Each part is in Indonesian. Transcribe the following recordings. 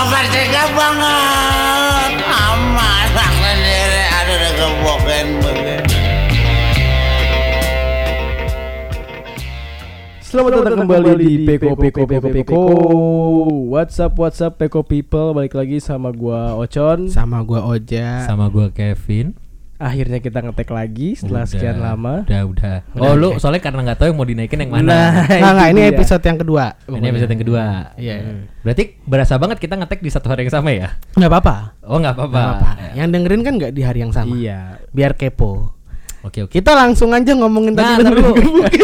Bapak tega banget. Anak sendiri ada gebokin begini. Selamat datang kembali di Peko. What's up Peko people. Balik lagi sama gua Ocon, sama gua Oja, sama gua Kevin. Akhirnya kita ngetek lagi setelah sekian lama. Udah. Oh lu soalnya karena nggak tahu yang mau dinaikin yang mana. Nah, ini episode yang kedua. Ini episode yang kedua. Iya. Berarti berasa banget kita ngetek di satu hari yang sama ya? Nggak apa-apa. Oh nggak apa-apa. Yang dengerin kan nggak di hari yang sama. Iya. Biar kepo. Oke. Kita langsung aja ngomongin tadi dulu.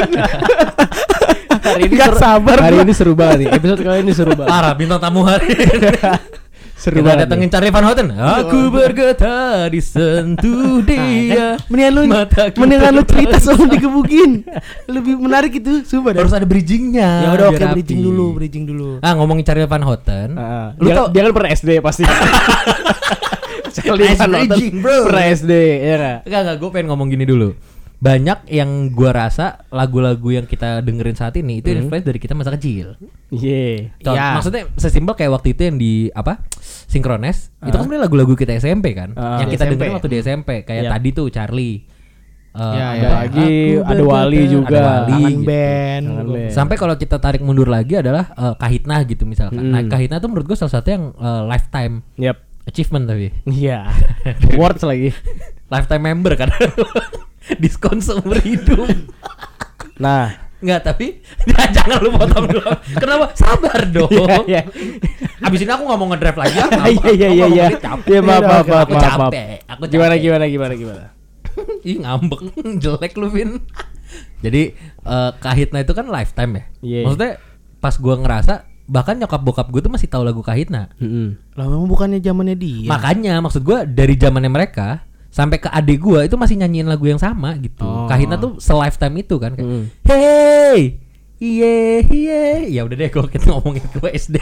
Hari ini nggak sabar. Hari ini seru banget nih. Episode kali ini seru banget. Parah bintang tamu hari ini. Seru kita banget. datengin Charlie Van Houten. Aku bergetar disentuh dia. Mendingan lu cerita soal digebukin. Lebih menarik itu, sumpah dah. Harus ada bridgingnya. Ya udah, oke, biar bridging rapi. dulu. Ngomongin Charlie Van Houten. Lu tau dia kan pernah SD pasti. Charlie Van Houten pernah SD, ya enggak? Enggak, gue pengen ngomong gini dulu. Banyak yang gua rasa lagu-lagu yang kita dengerin saat ini itu influence dari kita masa kecil. Iya. Maksudnya sesimpel kayak waktu itu yang di apa? Synchronize. Itu kan sebenarnya lagu-lagu kita SMP kan. Yang kita dengerin waktu di SMP kayak tadi tuh Charlie. Ada lagi, ada Wali juga. Ada Wali, Kangen gitu. band. Sampai kalau kita tarik mundur lagi adalah Kahitna gitu misalkan. Nah, Kahitna tuh menurut gua salah satu yang lifetime achievement tapi. Iya. Awards lagi. Lifetime member kan. Diskon seumur hidup. Nah, enggak, tapi jangan lu potong dulu. Kenapa? Sabar dong. Iya. Abis ini aku nggak mau ngedrive lagi. Iya. Ya maaf. Aku capek. Gimana? Ih ngambek, jelek lu Vin. Jadi Kahitna itu kan lifetime ya. Yeah. Maksudnya pas gua ngerasa bahkan nyokap bokap gue tuh masih tahu lagu Kahitna. Lah memang bukannya zamannya dia. Makanya maksud gua dari zamannya mereka sampai ke adik gua itu masih nyanyiin lagu yang sama gitu. Kahitna tuh se-lifetime itu kan kayak hey, iye. Ya udah deh kalau kita ngomongin gue SD.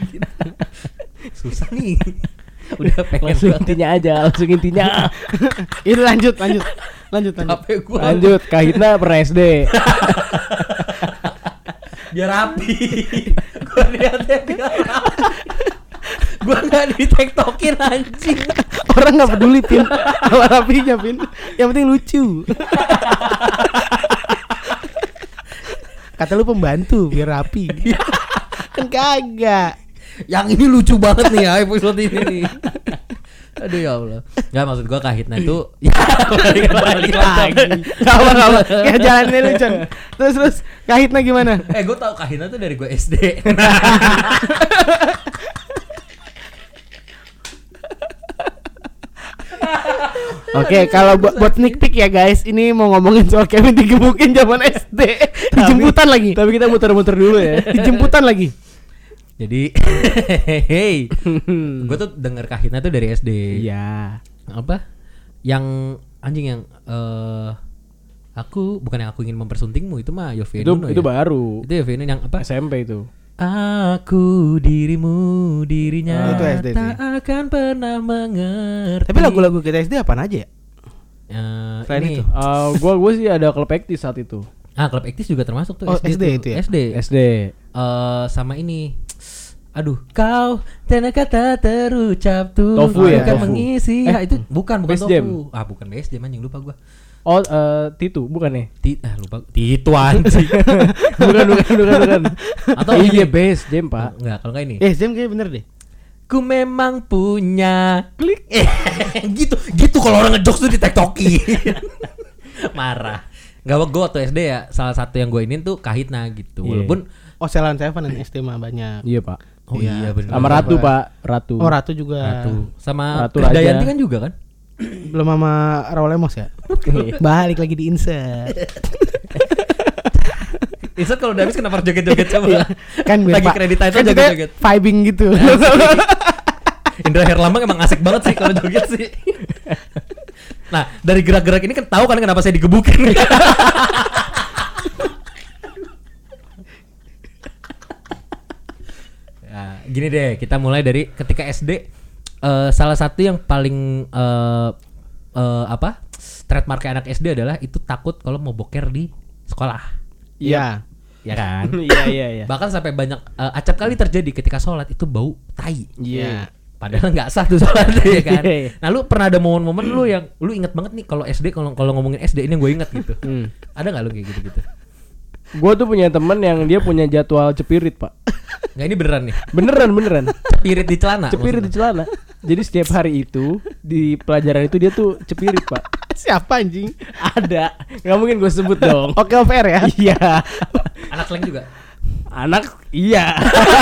Susah nih. Udah pengen langsung intinya. Ini lanjut. Lanjut, Kahitna pernah SD. Biar rapi. Gua lihatnya biar rapi. Gua enggak di-tiktokin anjing. Orang nggak peduli Pin, sama rapinya Pin. Yang penting lucu. Kata lu pembantu biar rapi. Kan kagak. Yang ini lucu banget nih ya episode ini nih. Aduh ya Allah. Enggak, maksud gua Kahitna itu ya balik lagi. Enggak. Kayak jalannya lu, Con. Terus Kahitna gimana? Gua tahu Kahitna tuh dari gua SD. Oke, kalau buat sneak peek ya guys, ini mau ngomongin soal Kevin digebukin zaman SD. Dijemputan lagi. Tapi kita muter-muter dulu ya. Dijemputan lagi. Jadi gue tuh denger Kahitna tuh dari SD. Iya. Apa? Yang anjing yang aku bukan yang aku ingin mempersuntingmu itu mah Yovie Nuno. Itu baru. Itu Yovie Nuno yang apa? SMP itu. Aku dirimu dirinya itu SD tak akan pernah mengerti. Tapi lagu-lagu kita SD apaan aja ya? Selain ini. itu. Gua sih ada Klub Ektis saat itu. Klub Ektis juga termasuk tuh. SD tuh. itu ya? SD. sama ini. Aduh, kau dan kata terucap tuh Tofu ya? akan Tofu. mengisi. Itu bukan Best Tofu. Jam. Bukan Best Jam anjing, lupa gua. Titu bukan ya? Lupa. Titu anjing. bukan. Atau iya Best Jam, Pak. Enggak, kalau enggak ini. Jam kayak bener deh. Ku memang punya klik. Gitu kalau orang ngejokes tuh di TikTokin. Marah. Enggak, gue waktu SD ya salah satu yang gue inin tuh Kahitna gitu. Yeah. Walaupun Ceylon Seven dan SD mah banyak. Iya, Pak. oh iya benar. Sama Ratu, Pak. Ratu. Oh, Ratu juga. Sama Ratu Raja. Dayanti kan juga kan? Belum sama Raul Lemos ya? Balik lagi di insert. Insert kalau udah habis kenapa joget-joget coba? Kan lagi kredit itu kan joget-joget. vibing gitu. Indra Herlambang emang asik banget sih kalau joget sih. Nah, dari gerak-gerak ini kan tahu kan kenapa saya digebukin. Ya, gini deh, kita mulai dari ketika SD. Salah satu yang paling trademark anak SD adalah itu takut kalau mau boker di sekolah. Iya. ya kan? Iya. Bahkan sampai banyak acap kali terjadi ketika sholat itu bau tai. Iya. Padahal nggak sah tuh sholat ya kan. Iya. Nah lu pernah ada momen-momen lu yang lu inget banget nih kalau SD, kalau ngomongin SD ini yang gue inget gitu. Ada nggak lu kayak gitu-gitu? Gue tuh punya temen yang dia punya jadwal cepirit, Pak. Nggak, ini beneran nih. Beneran. Cepirit di celana. Cepirit di celana. Jadi setiap hari itu di pelajaran itu dia tuh cepirit, Pak. Siapa anjing? Ada. Nggak mungkin gue sebut dong. Oke, off air ya. Iya. Anak slang juga. Anak iya.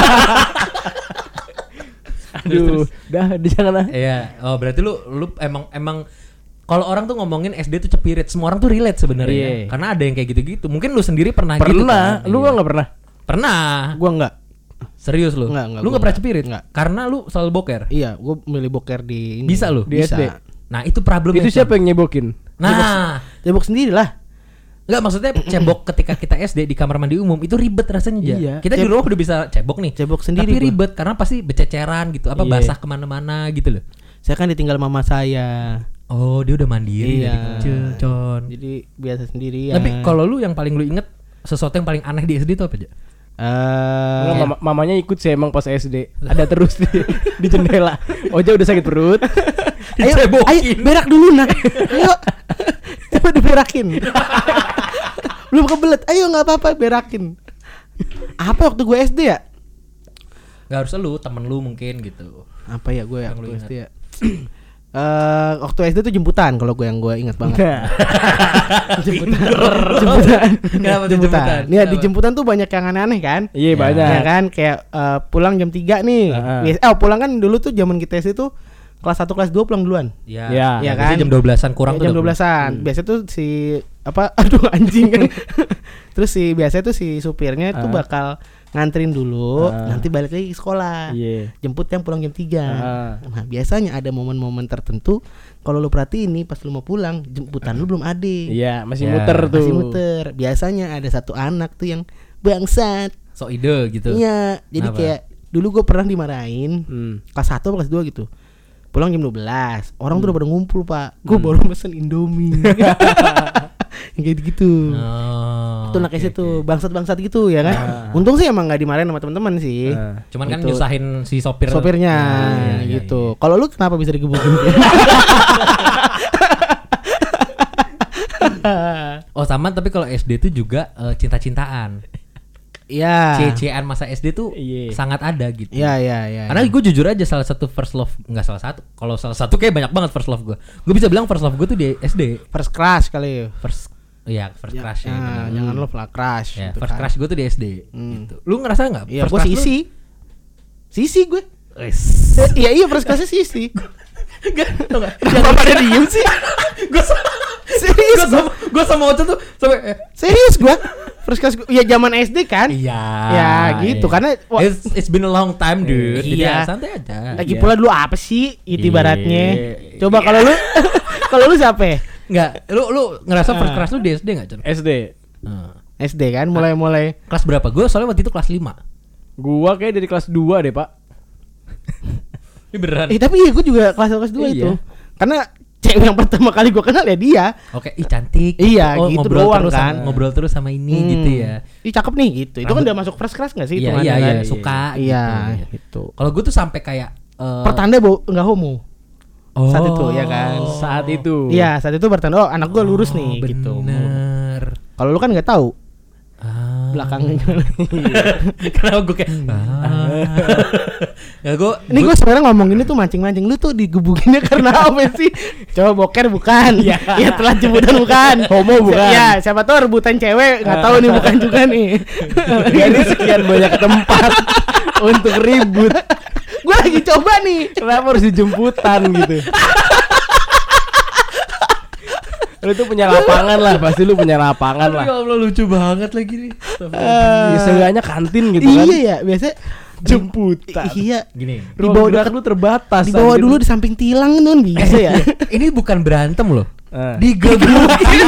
Aduh, dah jangan lah. Iya. Oh berarti lu emang kalau orang tuh ngomongin SD tuh cepirit, semua orang tuh relate sebenarnya. Iya. Karena ada yang kayak gitu-gitu. Mungkin lu sendiri pernah gitu Pernah. kan? Lu Iya. nggak pernah? Pernah. Gua enggak. Serius lu? Enggak, Lu gua nggak pernah enggak. cepirit? Enggak. Karena lu selalu boker. Iya, gua milih boker di ini. Bisa lu? Di Bisa. SD. Nah itu problemnya. Itu siapa yang nyebokin? Nah, Cebok sendiri lah. nggak maksudnya cebok ketika kita SD di kamar mandi umum itu ribet rasanya. Ja. Iya. Kita di rumah udah bisa cebok nih. Cebok sendiri Tapi gua. ribet karena pasti bececeran gitu, apa Iya. basah kemana-mana gitu loh. Saya kan ditinggal mama saya. Oh dia udah mandiri Iya. dari kecil, Con. Jadi biasa sendirian. Tapi kalau lu yang paling lu inget sesuatu yang paling aneh di SD itu apa aja? Enggak, mamanya ikut sih emang pas SD. Ada terus di jendela. Oja udah sakit perut. ayo berak dulu nak. Ayo. Coba diberakin. Belum kebelet. Ayo nggak apa-apa berakin. Apa waktu gue SD ya? Gak harus lu, temen lu mungkin gitu. Apa ya gue Yang lu waktu ingat. SD ya? Waktu SD tuh jemputan kalau gue yang gue ingat banget. Jemputan. Kenapa tuh jemputan? Nih di jemputan tuh banyak yang aneh-aneh kan? Iya, banyak. Ya kan kayak pulang jam 3 nih. Pulang kan dulu tuh zaman kita SD tuh kelas 1 kelas 2 pulang duluan. Ya, Iya. Iya biasanya kan? jam 12-an kurang Ya, jam tuh. 12-an. Biasanya tuh si apa aduh anjing kan. Terus biasanya tuh si supirnya tuh bakal nganterin dulu, nanti balik lagi ke sekolah. Iya. Jemput yang pulang jam 3. Nah, biasanya ada momen-momen tertentu kalau lu perhatiin nih pas lu mau pulang, jemputan lu belum ada. Iya, masih Ya, muter tuh. Masih muter. Biasanya ada satu anak tuh yang bangsat. So ide gitu. Iya, jadi Kenapa? kayak dulu gue pernah dimarahin kelas 1 atau kelas 2 gitu. Pulang jam 12. Orang tuh udah pada ngumpul, Pak. Gue baru pesen Indomie. Kayak gitu. Oh, Itu anak oke, SD tuh oke. bangsat-bangsat gitu ya kan. Untung sih emang nggak dimarahin sama teman-teman sih. Cuman kan Gitu. nyusahin si sopir. Sopirnya Iya, gitu. Kalau lu kenapa bisa digebukin? Oh sama, tapi kalau SD tuh juga cinta-cintaan. Iya. C-C-an masa SD tuh Iya. sangat ada gitu. Iya. Karena gue jujur aja salah satu first love, nggak salah satu. Kalau salah satu kayak banyak banget first love gue. Gue bisa bilang first love gue tuh di SD. First crush kali. First crush ya. Nah, bener. jangan love lah crush. Ya, gitu first kan. crush gue tuh di SD. Gitu. Lu ngerasa nggak? Iya, first gue crush lu- Sisi. Sisi gue. Wes. Iya first crushnya Sisi. Jangan pada diem sih. Gue Serius gue sama Ocha tuh sampai Serius gue. First crush ya zaman SD kan. iya. Ya gitu iya. karena It's been a long time dude. Jadi Iya. ya, santai aja. lagi Iya. pula dulu apa sih itu Iya. ibaratnya. Coba kalau lu kalau lu siapa ya? Enggak, lu ngerasa first crush lu di SD enggak, Jon? SD. SD kan mulai Kelas berapa? Gue soalnya waktu itu kelas 5. Gua kayak dari kelas 2 deh, Pak. Ini beneran. tapi iya gue juga kelas 2 Iya. itu. Karena cewek yang pertama kali gue kenal ya dia. Oke, ih cantik. Iya, gitu ngobrol doang terus kan. ngobrol terus sama ini gitu ya. Ih cakep nih gitu. Itu kan udah masuk first crush gak sih? Iya, hitungannya iya, kan? iya, suka Iya gitu. gitu. Kalau gue tuh sampai kayak Pertanda nggak homo. Saat itu ya kan. Saat itu. Iya saat itu bertanda oh anak gue lurus nih gitu. Bener. Kalau lu kan nggak tahu belakangnya gimana. Kenapa gue kayak ya gue Ini gue sebenarnya ngomong ini tuh mancing-mancing. Lu tuh digebukinnya karena apa sih? Coba boker bukan? Iya. Ya telat jemputan bukan? Homo bukan? Ya siapa tahu rebutan cewek nggak tahu nih bukan juga nih. Ini sekian banyak tempat untuk ribut. Gue lagi coba nih. Kenapa harus dijemputan gitu? Lu tuh punya lapangan lah, pasti lu punya lapangan lah. Ya Allah lucu banget lagi nih. Ya, seenggaknya kantin gitu kan. Iya ya biasa Jemputan. Iya. Gini. Di Ruang bawah gerak lu terbatas. Dibawa anjir. dulu di samping tilang tuh bisa ya. Ini bukan berantem loh. Digebukin.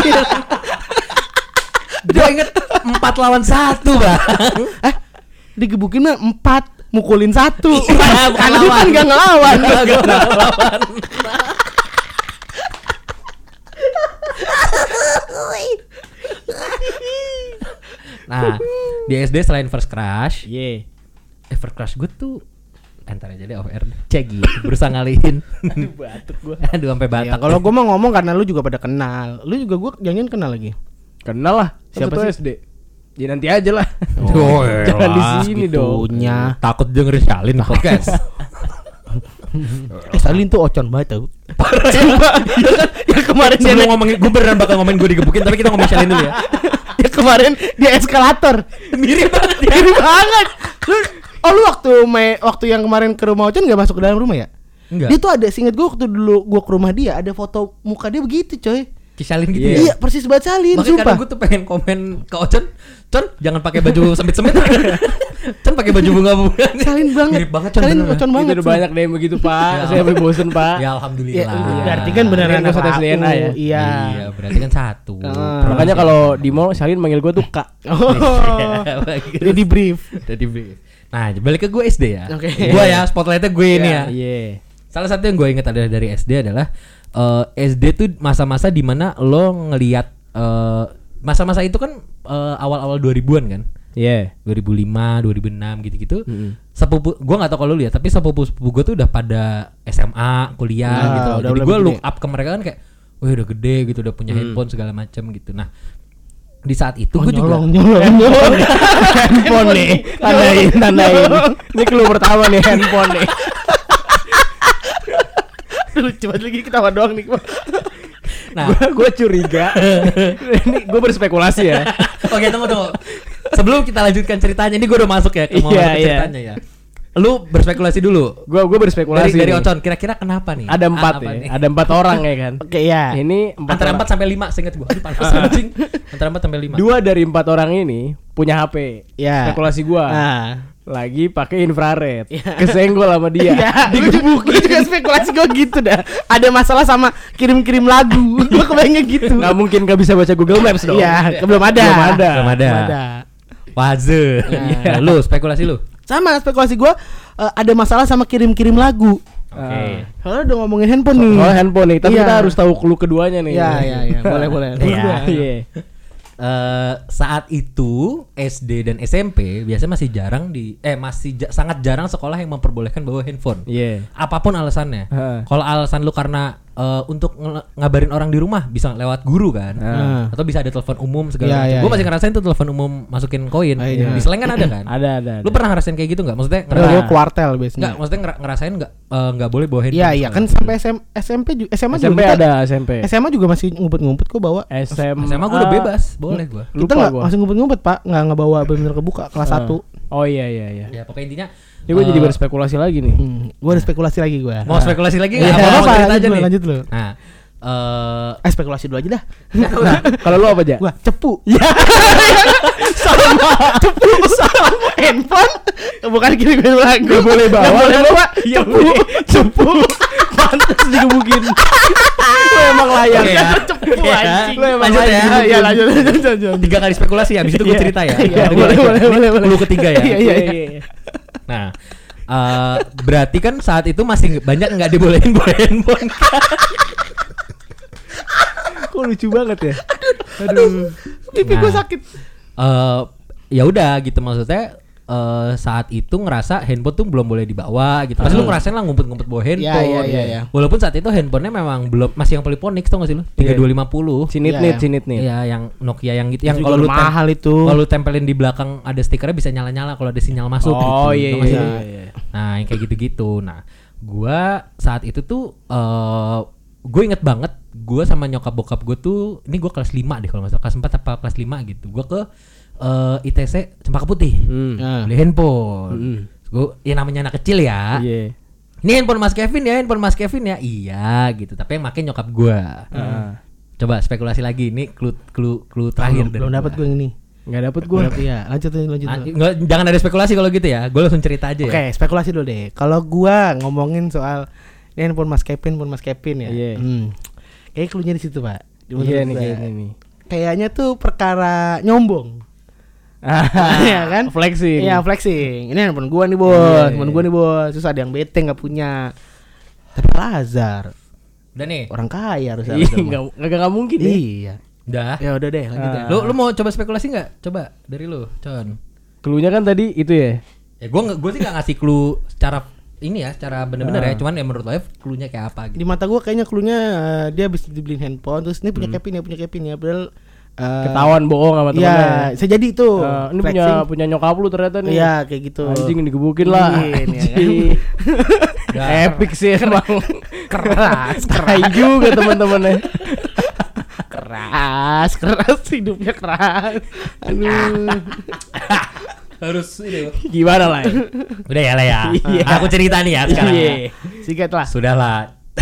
Gue inget 4 lawan 1 bang. Digebukin mah 4 mukulin 1. Iya, bukan Karena lu kan lawan. gak ngelawan. Nah, Di SD selain First Crush, Iya. First Crush gue tuh entar aja deh off air. Cek gitu. Berusaha ngalihin. Aduh batuk gua. Aduh sampai Ya, batak. kalau gue mau ngomong karena lu juga pada kenal. Lu juga gue jangan kenal lagi. Kenal lah. Siapa Siapa sih? SD? Ya nanti aja lah. Oh, Jangan di elah, sini dong. Punya. Takut dengerin Shalin podcast. Salin tuh ocon banget tau. Sumpah. Yang kemarin dia Sebelum ngomongin, gue beneran bakal ngomongin gue digebukin, tapi kita ngomongin Shalin dulu ya. yang kemarin dia eskalator. Mirip banget ya. Mirip banget. Lu waktu yang kemarin ke rumah Ocon gak masuk ke dalam rumah ya? Enggak. Dia tuh ada, seinget gue waktu dulu gue ke rumah dia ada foto muka dia begitu coy. Shalin gitu Iya. ya. Iya persis banget Salin. Makanya Sumpah. kadang gue tuh pengen komen ke Ocon, Con jangan pakai baju sempit-sempit. Con pakai baju bunga-bunga. Salin banget. Mirip banget Con. Salin beneran. Ocon banget. Itu udah banyak deh yang begitu Pak. Ya. Saya sampai bosen Pak. Ya Ya, alhamdulillah. berarti kan beneran Ini satu aku. DNA ya? Iya. Iya, berarti kan satu. Makanya kalau di mall Shalin manggil gue tuh Kak. Oh. Jadi di brief. Jadi nah, balik ke gue SD ya. Oke. Gue ya, spotlightnya gue ini ya. Iya. Salah satu yang gue ingat adalah dari SD adalah SD tuh masa-masa dimana lo ngelihat masa-masa itu kan awal-awal 2000-an kan. Iya. 2005, 2006 gitu-gitu. Sepupu gue nggak tahu kalau lu lihat, tapi sepupu gue tuh udah pada SMA, kuliah Nah, gitu. udah Jadi lebih gue gede. look up ke mereka kan kayak, wah udah gede gitu, udah punya handphone segala macam gitu. Nah, di saat itu gue juga nyolong. Handphone nih. Tandain. Ini clue pertama nih handphone nih. Lucu banget lagi ketawa doang nih. nah, Gue curiga. Ini gue berspekulasi ya. oke tunggu. Sebelum kita lanjutkan ceritanya, ini gue udah masuk ya ke mau Iya, masuk ke iya. ceritanya ya. Lu berspekulasi dulu. Gue berspekulasi. Dari nih. Ocon, kira-kira kenapa nih? Ada 4 apa ya. nih? Ada 4 orang ya kan. Oke ya. Ini 4 Antara orang. 4 sampai 5 seinget gue. Aduh panas anjing. Antara 4 sampai 5. 2 dari 4 orang ini punya HP. Ya. Spekulasi gua. Nah. Lagi pakai infrared. Ya. Kesenggol sama dia. Iya, gue juga spekulasi gue gitu dah. Ada masalah sama kirim-kirim lagu. Gue kebayangnya gitu. Nggak mungkin gak bisa baca Google Maps dong. Iya, belum ada. Belum ada. Belum ada. Waze. Iya. Lu spekulasi lu. Sama spekulasi gue ada masalah sama kirim-kirim lagu. Oke. Kalau udah ngomongin handphone nih. Soal handphone nih, tapi Iya. kita harus tahu clue keduanya nih. Iya, boleh. Iya. Iya. Saat itu SD dan SMP biasanya masih jarang sangat jarang sekolah yang memperbolehkan bawa handphone. Iya. Apapun alasannya. Heeh. Kalau alasan lu karena untuk ngabarin orang di rumah bisa lewat guru kan, atau bisa ada telepon umum segala Iya, macam. iya, Gue masih iya. ngerasain tuh telepon umum masukin koin. Iya. Di Slang kan ada kan? Ada. Lu pernah ngerasain kayak gitu nggak? Maksudnya Gue kuartel biasanya. nggak? Maksudnya ngerasain nggak boleh bawa handphone? Iya kan sampai SMP juga SMA SMP juga kita- ada SMP. SMA juga masih ngumpet-ngumpet kok bawa. SMA SMA gue udah bebas, boleh gue. Kita Lupa nggak gua. masih ngumpet-ngumpet pak, nggak bawa benar kebuka kelas 1. Oh iya. Ya pokoknya intinya. Ini gue jadi berspekulasi lagi nih. Gue ada spekulasi lagi gue. Mau spekulasi lagi Iya, nggak? Apa mau cerita aja nih? lanjut lu. Nah, Spekulasi dulu aja dah. Kalau lu apa aja? Gua cepu. Ya. sama cepu sama handphone. Bukan kirim lagu. Gak boleh bawa. Gak boleh bawa. Iya, Cepu. Cepu. Pantes digebukin. Lu emang layak. Oke ya. Cepu Iya. anjing. Lu emang Lanjut ya. Iya lanjut. 3 kali spekulasi ya, habis itu gue Iya. cerita ya. Iya, Ini boleh, gua- boleh, ini boleh, boleh. clue ketiga ya. Iya. Nah, berarti kan saat itu masih banyak nggak dibolehin bawa handphone. Kok lucu banget ya? Aduh. Pipi gue sakit. Ya udah gitu maksudnya. Saat itu ngerasa handphone tuh belum boleh dibawa gitu. Pasti lu ngerasain lah ngumpet-ngumpet bawa handphone. Iya. Walaupun saat itu handphonenya memang belum masih yang Polyphonics tau gak sih lu? 3250. Cinit nih. Iya, yang Nokia yang gitu. Yang Itu kalau juga lu mahal itu. Kalau lu tempelin di belakang ada stikernya bisa nyala-nyala kalau ada sinyal masuk gitu. Oh iya. Tau gak sih lu? Nah, yang kayak gitu-gitu. Nah, gua saat itu tuh gue inget banget gue sama nyokap bokap gue tuh ini gue kelas 5 deh kalau nggak salah kelas 4 apa kelas 5 gitu. Gue ke ITC Cempaka Putih. Beli handphone. Gue ya namanya anak kecil ya. Iya. Ini handphone Mas Kevin ya. Iya gitu. Tapi yang make nyokap gue. Coba spekulasi lagi. Ini clue terakhir. Belum dapat gue yang ini. Nggak dapet gue. Iya, lanjut. Jangan ada spekulasi kalau gitu ya. Gue langsung cerita aja ya. Oke, spekulasi dulu deh. Kalau gua ngomongin soal ini handphone Mas Kevin ya. Iya. Kayak cluenya di situ, Pak. Iya nih kayaknya nih. Kayaknya tuh perkara nyombong. Iya kan? Flexing. Iya, flexing. Ini handphone gua nih, Bos. Iya, Handphone iya. gua nih, Bos. Terus ada yang bete enggak punya. Tapi Lazar, Udah nih. orang kaya harus Iya, nggak mungkin nih. Iya. Udah. Ya udah deh, lanjut ya. Lu mau coba spekulasi nggak? Coba dari lu, Con. Cluenya kan tadi itu ya. Ya gue sih nggak ngasih clue secara ini ya, secara bener-bener ya. Cuman ya menurut lo cluenya kayak apa Di gitu. mata gua kayaknya cluenya dia habis dibeliin handphone terus ini punya Kevin ya padahal Ketahuan bohong sama temennya. iya, bisa jadi itu. Ini flexing. punya nyokap lu ternyata nih. Iya, kayak gitu. Anjing digebukin lah. Anjing, ya kan? Epic sih emang. Keras, Tai juga teman-temannya. keras hidupnya keras. Aduh. Harus ini. Gimana lah? Udah ya lah ya. Iya. Aku cerita nih ya sekarang. Iya. Sikat lah. Sudahlah.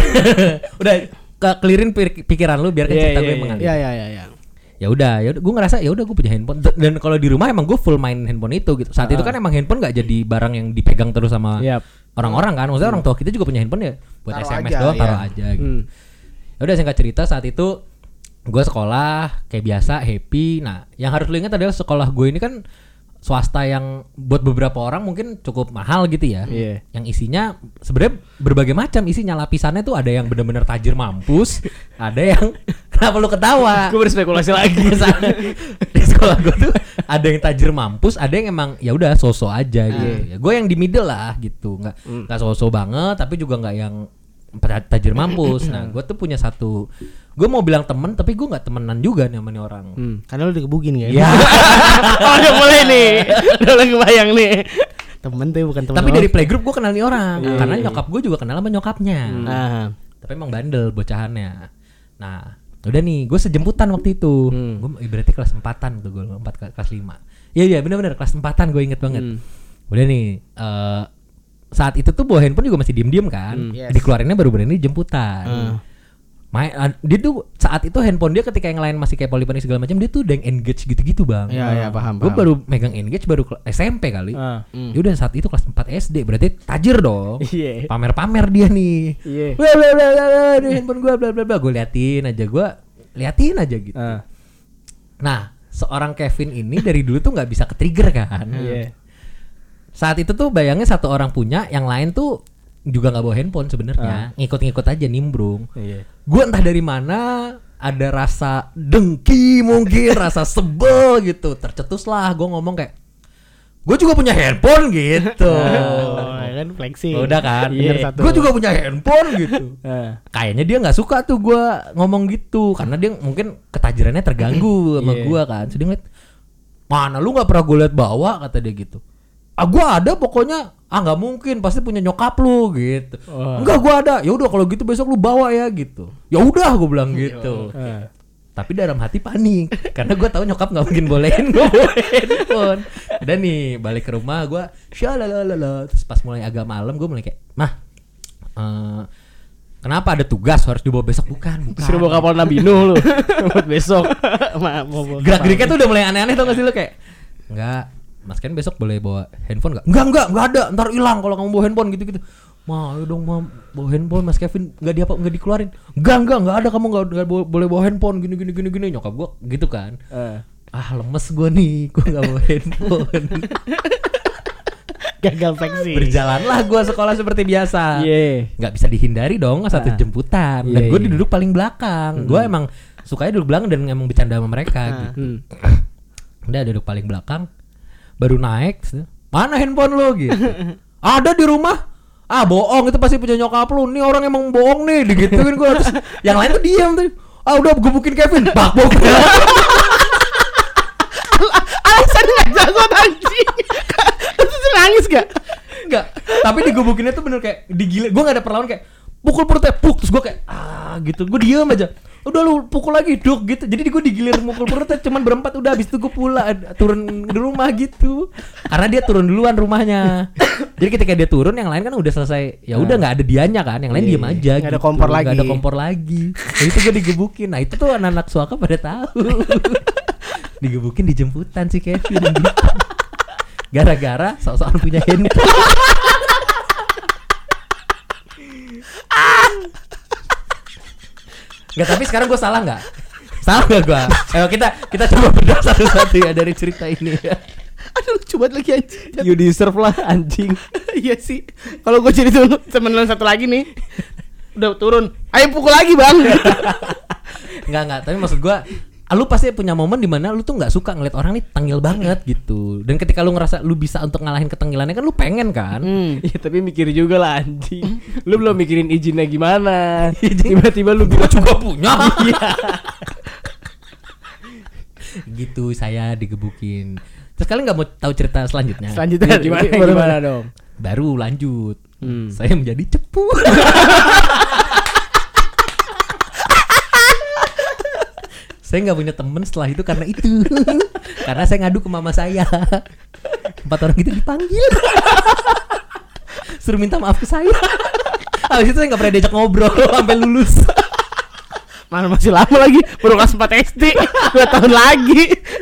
Udah clearin pikiran lu biar kan cerita gue mengalir. Iya. Ya udah gue ngerasa ya udah gue punya handphone dan kalau di rumah emang gue full main handphone itu gitu. Saat itu kan emang handphone nggak jadi barang yang dipegang terus sama orang-orang kan. Maksudnya orang tua kita juga punya handphone ya buat Taruh SMS aja, doang, ya. taruh aja gitu. Ya udah singkat cerita saat itu gue sekolah kayak biasa happy. Nah yang harus lu ingat adalah sekolah gue ini kan swasta yang buat beberapa orang mungkin cukup mahal gitu ya. Iya. Yang isinya sebenarnya berbagai macam isinya, lapisannya tuh ada yang benar-benar tajir mampus, ada yang kenapa lu ketawa? Gue berspekulasi lagi. Di sekolah gue tuh ada yang tajir mampus, ada yang emang ya udah so-so aja gitu. Ya, gue yang di middle lah gitu, nggak so-so banget, tapi juga nggak yang tajir mampus. Nah, gue tuh punya satu, gue mau bilang temen, tapi gue nggak temenan juga nih sama nih orang. Karena lu digebukin kan? Ya. Oh, udah mulai nih. Udah mulai kebayang nih. Temen tuh bukan temen. Tapi dari playgroup gue kenal nih orang, karena nyokap gue juga kenal sama nyokapnya. Nah, Tapi emang bandel bocahannya. Nah, udah nih, gue sejemputan waktu itu. Gue berarti kelas 4-an tuh, gue 4 kelas 5. Iya benar-benar kelas 4-an, gue inget banget. Udah nih, saat itu tuh bawa handphone juga masih diem-diem kan. Yes. Dikeluarinnya baru berani jemputan. Dia tuh saat itu handphone dia ketika yang lain masih kayak Polyphony segala macam, dia tuh udah yang engage gitu-gitu bang. Iya, paham. Gue baru megang engage baru SMP kali. Ya udah saat itu kelas 4 SD, berarti tajir dong. Iya. Pamer-pamer dia nih. Iya. Bla bla bla bla, ini handphone gue bla bla bla. Gue liatin aja gitu. Nah, seorang Kevin ini dari dulu tuh nggak bisa ke-trigger kan. Iya. Saat itu tuh bayangnya satu orang punya, yang lain tuh juga nggak bawa handphone sebenarnya, ngikut-ngikut aja nimbrung. Iya. Gue entah dari mana ada rasa dengki mungkin, rasa sebel gitu, tercetus lah. Gue ngomong kayak, gue juga punya handphone gitu. Kan flexing. Udah kan, Iya. gue juga punya handphone gitu. Kayaknya dia nggak suka tuh gue ngomong gitu, karena dia mungkin ketajirannya terganggu sama gue kan. Jadi ngeliat, mana lu nggak pernah gue liat bawa, kata dia gitu. Gue ada pokoknya. Nggak mungkin, pasti punya nyokap lu gitu. Enggak, gue ada. Ya udah kalau gitu besok lu bawa ya gitu. Ya udah, gue bilang gitu. Tapi dalam hati panik karena gue tahu nyokap nggak mungkin bolehin gue bawa handphone. Udah nih balik ke rumah gue, syalalala. Terus pas mulai agak malam gue mulai kayak, mah, kenapa ada tugas harus dibawa besok? Bukan. Suruh bawa kapal Nabi Nuh lu buat besok. Gerak-geriknya tuh udah mulai aneh-aneh, tau gak sih lu kayak, enggak, Mas Ken besok boleh bawa handphone gak? Enggak ada, ntar hilang kalau kamu bawa handphone gitu-gitu. Ayo dong bawa handphone Mas Kevin, nggak dikeluarin. Enggak ada, kamu nggak boleh bawa handphone gini. Nyokap gue gitu kan. Lemes gue nih, gue nggak bawa handphone. Gagal flexing. Berjalanlah gue sekolah seperti biasa. Nggak bisa dihindari dong satu jemputan. Dan gue duduk paling belakang. Gue emang sukanya duduk belakang dan emang bercanda sama mereka gitu. Udah duduk paling belakang. Baru naik, mana handphone lo gitu? Ada di rumah. Bohong, itu pasti punya nyokap lu. Nih orang emang bohong nih, digituin gue. Terus yang lain tuh diam tuh. Udah gebukin Kevin. Bak. Alasan nggak jago anjing. Terus nangis gak? Enggak. Tapi digebukinnya tuh bener kayak digila. Gue nggak ada perlawan kayak pukul perutnya, terus gue kayak gitu. Gue diam aja. Udah lu pukul lagi duk gitu. Jadi gue digilir mukul perutnya cuman berempat. Udah habis itu gue turun di rumah gitu. Karena dia turun duluan rumahnya. Jadi ketika dia turun yang lain kan udah selesai. Ya udah nggak ada dianya kan. Yang lain diem aja. Nggak ada kompor lagi. Nggak ada kompor lagi. Nah, itu gue digebukin. Nah itu tuh anak-anak suaka pada tahu. Digebukin di jemputan si Kevin. Gara-gara sok-sokan punya handphone. Enggak, tapi sekarang gue salah nggak? Salah nggak gue? Ayo kita coba bedah satu-satu ya dari cerita ini. Aduh, lucu banget lagi anjing. You deserve lah anjing. Iya sih. Kalau gue jadi temen lu satu lagi nih, udah turun. Ayo pukul lagi bang. Enggak. Tapi maksud gue lu pasti punya momen dimana lu tuh nggak suka ngeliat orang nih tengil banget gitu. Dan ketika lu ngerasa lu bisa untuk ngalahin ketengilannya kan lu pengen kan. Iya tapi mikir juga lah anjing. Lu belum mikirin izinnya gimana. Tiba-tiba lu bilang Juga punya. iya. Gitu saya digebukin. Terus kalian nggak mau tahu cerita selanjutnya? Selanjutnya Gimana dong? Baru lanjut. Saya menjadi cepu. Saya nggak punya temen setelah itu karena itu. Karena saya ngadu ke mama saya. 4 orang itu dipanggil. Suruh minta maaf ke saya. Habis itu saya nggak pernah diajak ngobrol sampai lulus. Mana masih lama lagi, baru kelas 4 SD, 2 tahun lagi.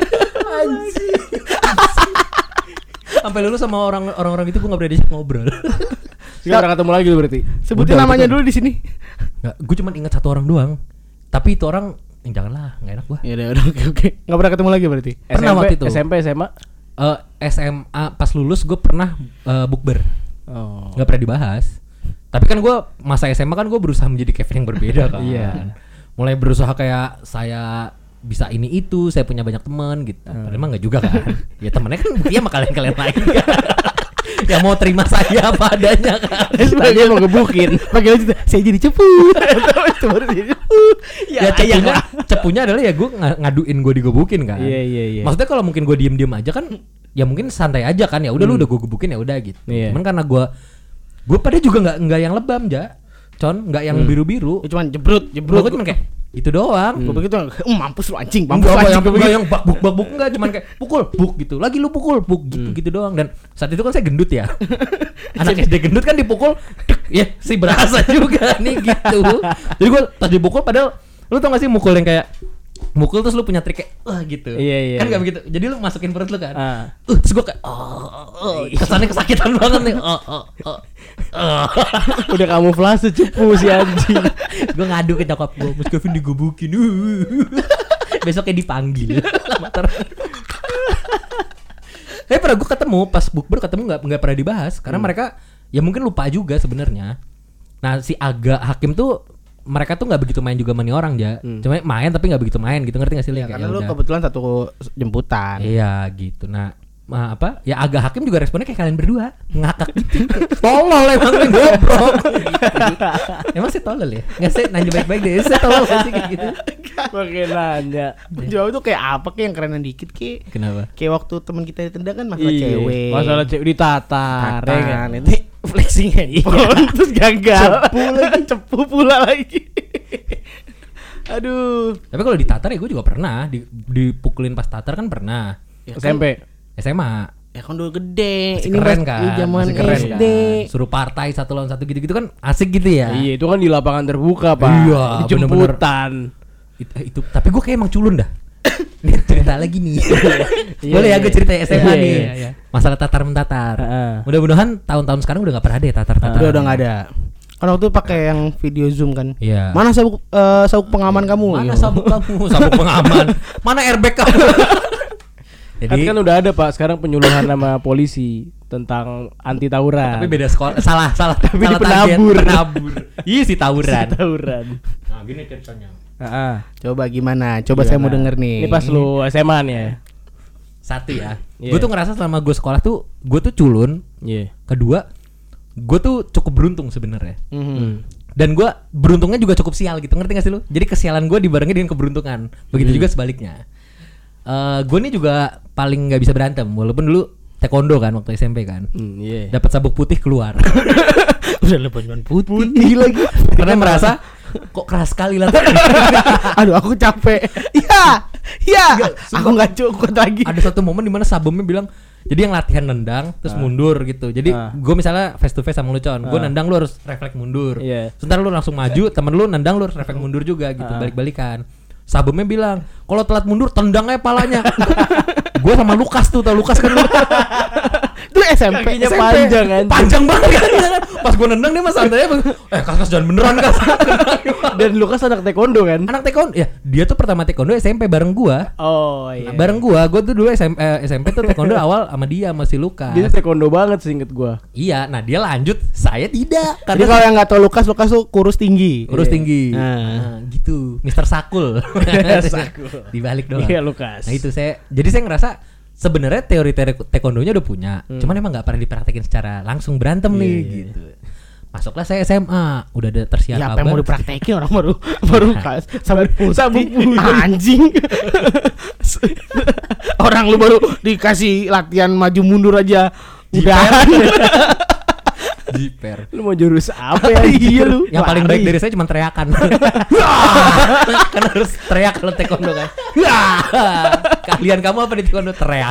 Sampai lulus sama orang-orang itu gue nggak pernah diajak ngobrol. Sekarang ketemu lagi lu berarti. Sebutin Udah, namanya betul. dulu di sini. Nggak, gue cuma ingat 1 orang doang. Tapi itu orang janganlah, nggak enak gua. Ya udah oke. Enggak pernah ketemu lagi berarti. Pernah waktu itu. SMP SMA. SMA pas lulus gue pernah bukber. Oh. Nggak pernah dibahas. Tapi kan gue masa SMA kan gue berusaha menjadi Kevin yang berbeda kan. Iya. Mulai berusaha kayak saya bisa ini itu, saya punya banyak teman gitu. Padahal emang nggak juga kan. Ya temennya kan buktinya sama kalian lagi kan. Yang mau terima saya apa adanya kan. Tadi mau gebukin. Panggil aja saya jadi cepu. Itu baru jadi cepu. Ya cepunya adalah ya gue ngaduin gue digebukin kan. Iya. Maksudnya kalau mungkin gue diem aja kan, ya mungkin santai aja kan. Ya udah lu udah gue gebukin ya udah gitu. Iya. Cuman karena gue pada juga nggak yang lebam nggak yang biru-biru. Ya cuman jebrut. Gue cuma kayak itu doang. Gue begitu, mampus lu anjing, mampus Enggak lu anjing. yang bak-buk enggak, cuman kayak pukul buk gitu. Lagi lu pukul buk gitu doang. Dan saat itu kan saya gendut ya. Anak SD gendut kan dipukul ya sih berasa juga nih gitu. Jadi gue pas dipukul padahal lu tau gak sih mukul yang kayak mukul terus lu punya trik kayak gitu. Iya. Kan gak begitu. Jadi lu masukin perut lu kan. Ah. Terus gue kayak kesannya kesakitan banget nih. Udah kamuflase cepu si anjing. Gue ngadu ke nyokap gue, Mas Kevin digebukin. Besoknya dipanggil. Tapi pernah gue ketemu pas bukber nggak pernah dibahas karena mereka ya mungkin lupa juga sebenarnya. Nah si Aga Hakim tuh mereka tuh nggak begitu main juga sama nih orang cuma main tapi nggak begitu main gitu, ngerti nggak sih? Ya, karena lu kebetulan satu jemputan. Iya gitu. Nah apa ya Aga Hakim juga responnya kayak kalian berdua ngakak gitu. Tolol emang nih goblok gitu. Emang sih tolol ya? Nggak sih nanya baik-baik deh. Saya tolol gak sih kayak gitu? Pakai nanya. Jawab tuh kayak apa kayak yang kerenan dikit kayak. Kenapa? Kayak waktu teman kita ditendang kan masalah Iya. cewek. Masalah cewek ditatar. ya kan? Itu flexing handphone terus gagal. Cepu pula lagi. Aduh. Tapi kalau ditatar ya gue juga pernah dipukulin pas tatar kan pernah. Ya kan, SMP. SMA. ya kan udah gede. Masih Ini keren masih kan? zaman Masih keren SD. kan? Suruh partai 1 lawan 1 gitu-gitu kan asik gitu ya. Iya, itu kan di lapangan terbuka, Pak. Iya, Di jemputan. Itu tapi gue kayak emang culun dah. Nih cerita lagi nih. Boleh ya gue cerita SMA Iya, nih. iya. Masalah tatar mentatar. Heeh. Mudah-mudahan tahun-tahun sekarang udah gak pernah ada ya tatar-tatar. Udah nggak ada. Kan waktu itu pakai yang video Zoom kan. Iya. Mana sabuk pengaman kamu? Mana Iya. sabuk kamu? Sabuk pengaman. Mana airbag kamu? Jadi Kan udah ada, Pak, sekarang penyuluhan sama polisi tentang anti tawuran. tapi beda sekolah. Salah. Tapi di target. penabur. Iya sih tawuran. Tawuran. Nah, gini ceritanya. Heeh. Coba gimana? Coba saya mau denger nih. Ini pas lu SMA nih ya. Satu ya. Iya. Gue tuh ngerasa selama gue sekolah tuh gue tuh culun. Iya. Kedua, gue tuh cukup beruntung sebenarnya. Dan gue beruntungnya juga cukup sial gitu, ngerti gak sih lu? Jadi kesialan gue dibarengi dengan keberuntungan. Begitu juga sebaliknya. Gue nih juga paling nggak bisa berantem, walaupun dulu taekwondo kan waktu SMP kan. Iya. Dapat sabuk putih keluar. Udah lepas putih lagi. Karena merasa kok keras sekali lah. Aduh, aku capek. Iya. Aku nggak cukup lagi. Ada satu momen dimana sabumnya bilang, jadi yang latihan nendang terus mundur gitu. Jadi gue misalnya face to face sama lu Con, gue nendang lu harus refleks mundur. Iya. Sebentar lu langsung maju, temen lu nendang lu harus refleks mundur juga gitu, balik-balikan. Sabumnya bilang, kalau telat mundur tendang aja palanya. Gue sama Lukas tuh, tau Lukas kan lu? Lu SMP. Kakinya SMP. panjang kan. Panjang banget kan. Pas gue nendang dia mas santai kas jangan beneran kas. Dan Lukas anak taekwondo kan? Anak taekwondo ya, dia tuh pertama taekwondo SMP bareng gua. Oh iya. Bareng gua tuh dulu SMP tuh taekwondo awal sama dia masih Lukas. Dia taekwondo banget seinget gua. Iya, nah dia lanjut, saya tidak. Jadi kalau yang nggak tahu Lukas tuh kurus tinggi. Kurus tinggi. Nah. Gitu, Mr. Sakul. Sakul. Dibalik doang. Iya Lukas. Nah itu saya ngerasa sebenarnya teori taekwondonya udah punya, cuman emang nggak pernah dipraktekin secara langsung berantem nih gitu. Masuklah saya SMA, udah ada tersiar Ya kabar. apa yang mau dipraktekin orang baru sabuk putih. Anjing. Orang lu baru dikasih latihan maju mundur aja udahan. Jiper. Lu mau jurus apa ya? Iya lu. Yang paling baik Lari. dari saya cuma teriakan. Kan harus teriak kalau taekwondo kan. Kalian kamu apa di taekwondo teriak.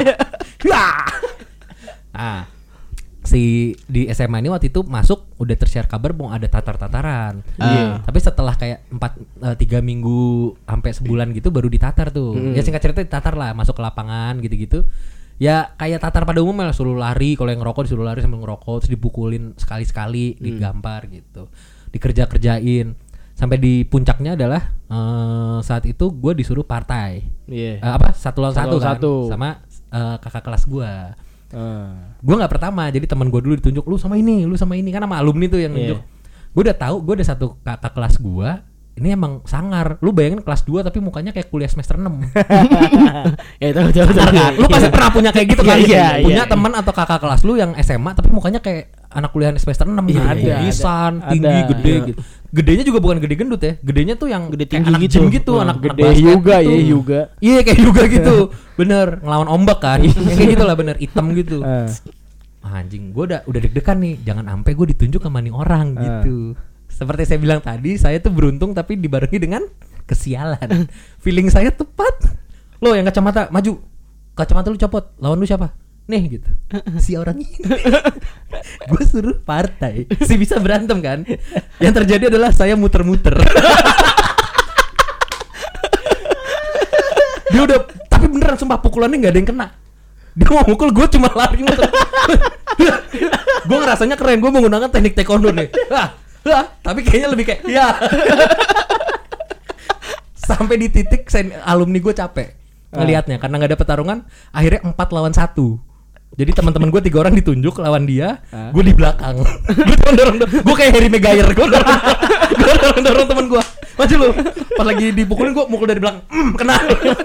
Nah, di SMA ini waktu itu masuk udah tersiar kabar mau ada tatar-tataran. Tapi setelah kayak 3 minggu sampai sebulan gitu baru ditatar tuh. Ya singkat cerita ditatar lah, masuk ke lapangan gitu-gitu. Ya kayak tatar pada umumnya lah, suruh lari, kalau yang ngerokok disuruh lari sambil ngerokok, terus dipukulin sekali-sekali, digampar gitu, dikerja-kerjain, sampai di puncaknya adalah saat itu gue disuruh partai, satu lawan satu kan, sama kakak kelas gue. Gue nggak pertama, jadi teman gue dulu ditunjuk, lu sama ini kan sama alumni tuh yang nunjuk. Gue udah tahu, gue ada satu kakak kelas gue. Ini emang sangar. Lu bayangin kelas 2 tapi mukanya kayak kuliah semester 6. Ya tahu. Lu pasti pernah punya kayak gitu kan? Iya, Punya teman atau kakak kelas lu yang SMA tapi mukanya kayak anak kuliah semester 6 gitu. Lisan, tinggi, gede gitu. Gedenya juga bukan gede gendut ya. Gedenya tuh yang gede kayak tinggi anak gitu. gym gitu, anak Gede basket juga gitu. ya juga. Iya kayak juga gitu. Bener, ngelawan ombak kan. Yang kayak gitulah bener, hitam gitu. Anjing, gue udah deg-degan nih. Jangan sampai gue ditunjuk sama nih orang gitu. Seperti saya bilang tadi, saya tuh beruntung tapi dibarengi dengan kesialan. Feeling saya tepat. Lo yang kacamata maju, kacamata lu copot, lawan lu siapa? Nih gitu. Si orang ini. Gue suruh partai. Si bisa berantem kan? Yang terjadi adalah saya muter-muter. Dia udah, tapi beneran sumpah pukulannya nggak ada yang kena. Dia mau mukul, gue cuma lari muter. Gue ngerasanya keren, gue menggunakan teknik taekwondo nih. Tapi kayaknya lebih kayak ya. Sampai di titik alumni gue capek ngelihatnya karena nggak ada pertarungan. Akhirnya 4 lawan 1. Jadi teman-teman gue 3 orang ditunjuk lawan dia, gue di belakang. Gue dorong, gue kayak Harry Maguire. Gue dorong teman gue. Maju lu. Pas lagi dipukulin gue mukul dari belakang. Kena.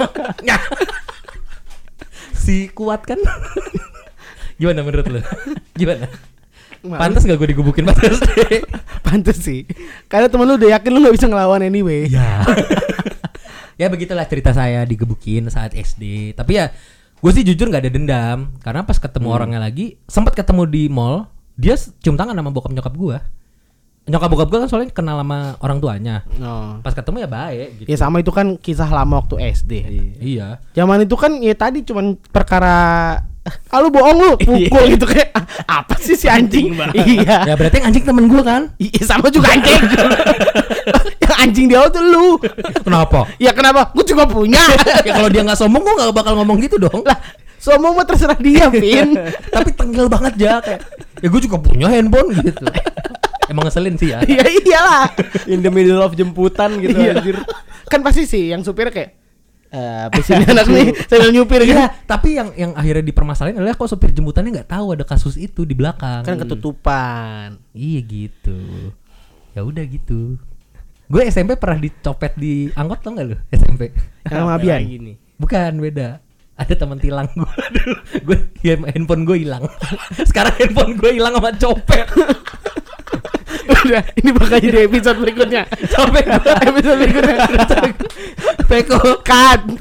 Si kuat kan? Gimana menurut lu? Gimana? Pantes gak gue digebukin pas SD? Pantes sih. Karena temen lu udah yakin lu gak bisa ngelawan anyway. Ya. Ya begitulah cerita saya digebukin saat SD. Tapi ya gue sih jujur gak ada dendam. Karena pas ketemu orangnya lagi, sempat ketemu di mall, dia cium tangan sama bokap nyokap gue. Nyokap bokap gue kan soalnya kenal sama orang tuanya. Pas ketemu ya baik gitu. Ya sama itu kan kisah lama waktu SD. Iya. Zaman itu kan ya tadi cuman perkara lu bohong lu pukul gitu kayak apa sih si anjing. Iya. Ya berarti yang anjing temen gue kan? Iya sama juga anjing. Yang anjing dia tuh lu. Kenapa? Ya kenapa? Gue juga punya. Ya kalau dia nggak sombong gue nggak bakal ngomong gitu dong. Lah sombong mah terserah dia, Vin. Tapi tengil banget ya kayak. Ya gue juga punya handphone gitu. Emang ngeselin sih ya. Iya iyalah. In the middle of jemputan gitu anjir. Kan pasti sih yang supir kayak sini anak nih sambil nyupir gitu. Iya, tapi yang akhirnya dipermasalahin adalah kok sopir jemputannya nggak tahu ada kasus itu di belakang. Kan ketutupan. Iya gitu. Ya udah gitu. Gue SMP pernah dicopet di angkot tau nggak lu? SMP. Yang sama Abian. Bukan, beda. Ada teman tilang gue dulu. Handphone gue hilang. Sekarang handphone gue hilang sama copet. Udah, ini bakal jadi episode berikutnya. Sampai Episode berikutnya. Peko Cut.